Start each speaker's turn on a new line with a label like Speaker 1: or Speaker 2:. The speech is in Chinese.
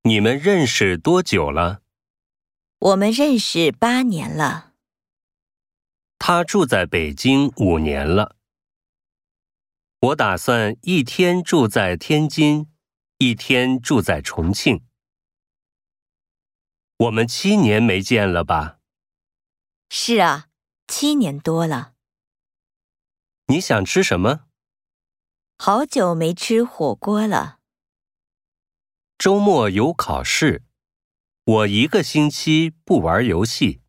Speaker 1: 你们认识多久了？
Speaker 2: 我们认识8年了。
Speaker 1: 他住在北京5年了。我打算一天住在天津，一天住在重庆。我们7年没见了吧？
Speaker 2: 是啊，7年多了。
Speaker 1: 你想吃什么？
Speaker 2: 好久没吃火锅了。
Speaker 1: 周末有考试，我1个星期不玩游戏。